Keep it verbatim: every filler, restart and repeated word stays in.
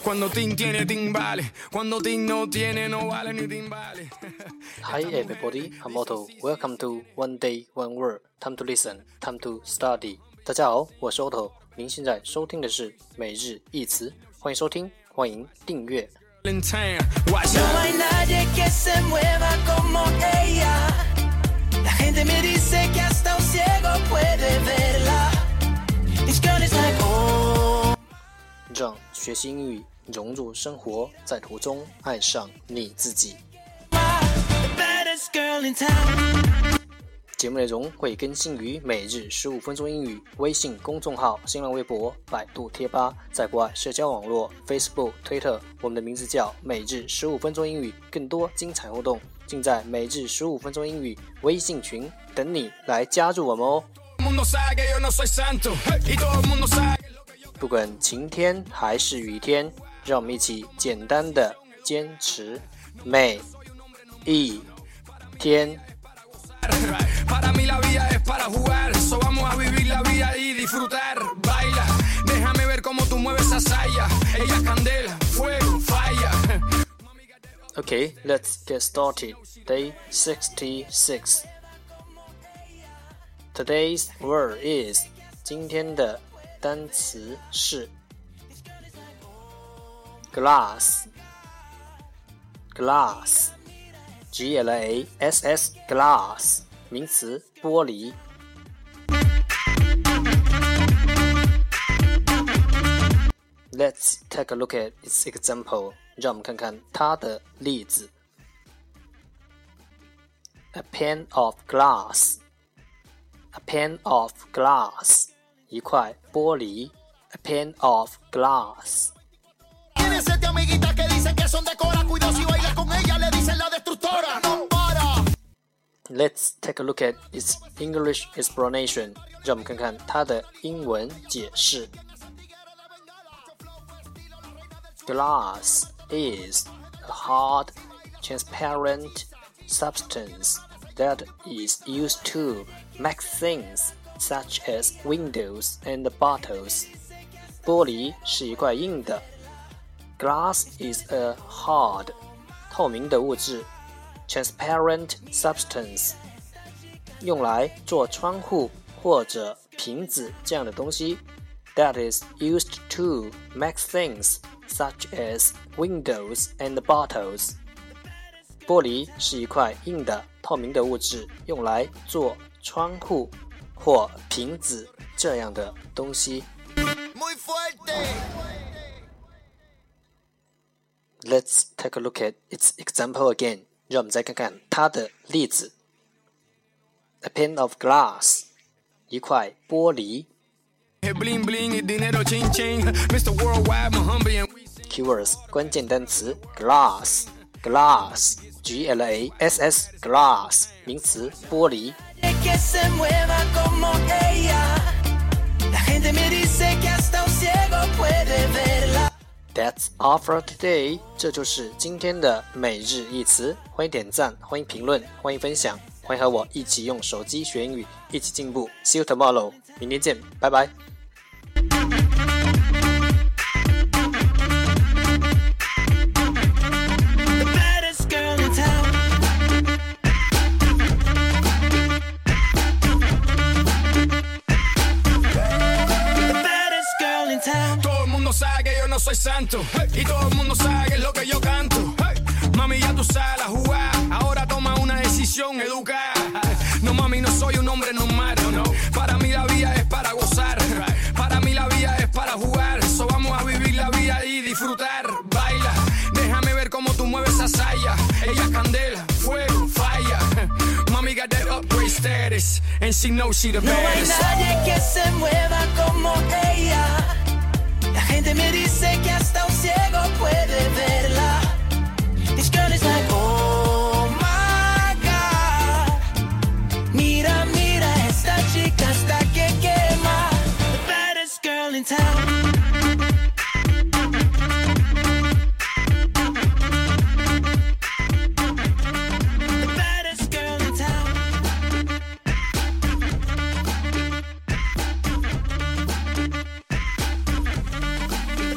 Hi everybody, I'm Otto. Welcome to One Day One Word. Time to listen, time to study. 大家好，我是 Otto。您现在收听的是每日一词，欢迎收听，欢迎订阅。让学习英语融入生活，在途中爱上你自己。节目内容会更新于每日十五分钟英语微信公众号、新浪微博、百度贴吧，在国外社交网络 Facebook、Twitter， 我们的名字叫每日十五分钟英语，更多精彩互动尽在每日十五分钟英语微信群，等你来加入我们哦。不管晴天还是雨天，让我们一起简单的坚持每一天。Okay, let's get started. Day sixty-six. Today's word is 今天的单词是 glass glass G L A S S glass 名词玻璃。Let's take a look at its example. 让我们看看它的例子。A pane of glass A pane of glass 一块玻璃 A pane of glass. Let's take a look at its English explanation. 让我们看看它的英文解释。Glass is a hard, transparent substance that is used to make things such as windows and bottles. 玻璃是一块硬的。Glass is a hard, 透明的物质。Transparent substance 用来做窗户或者瓶子这样的东西 that is used to make things such as windows and bottles. 玻璃是一块硬的透明的物质，用来做窗户或瓶子这样的东西。Let's take a look at its example again. 让我们再看看它的例子。A pane of glass 一块玻璃。Keywords 关键单词 glass glass G L A S S glass 名词玻璃。That's all for today. 这就是今天的每日一词。欢迎点赞，欢迎评论，欢迎分享，欢迎和我一起用手机学英语，一起进步。See you tomorrow. 明天见，拜拜。 Sabe que yo no soy santo, hey, y todo el mundo sabe que es lo que yo canto, hey, mami ya tú sabes la jugada, ahora toma una decisión educada, no mami no soy un hombre normal, no, no. Para mí la vida es para gozar, para mí la vida es para jugar, so vamos a vivir la vida y disfrutar, baila, déjame ver cómo tú mueves esa saya, ella es candela, fuego, falla, mami got that upgrade status, and she knows she the baddest. No hay nadie que se mueva como ella.